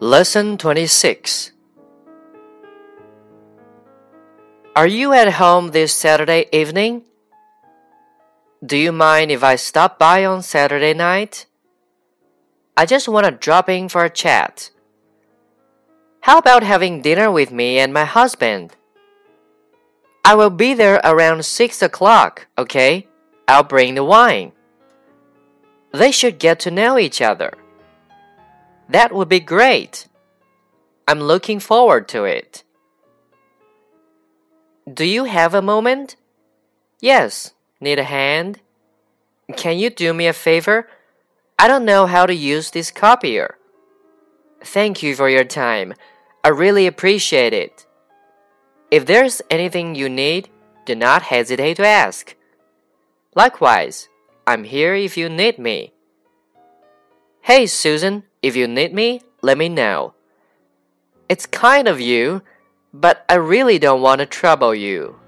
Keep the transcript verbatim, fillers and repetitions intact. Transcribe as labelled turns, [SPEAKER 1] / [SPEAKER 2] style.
[SPEAKER 1] Lesson twenty-six. Are you at home this Saturday evening? Do you mind if I stop by on Saturday night? I just want to drop in for a chat. How about having dinner with me and my husband? I will be there around six o'clock, okay? I'll bring the wine. They should get to know each other. That would be great. I'm looking forward to it. Do you have a moment? Yes. Need a hand? Can you do me a favor? I don't know how to use this copier. Thank you for your time. I really appreciate it. If there's anything you need, do not hesitate to ask. Likewise, I'm here if you need me. Hey, Susan, if you need me, let me know. It's kind of you, but I really don't want to trouble you.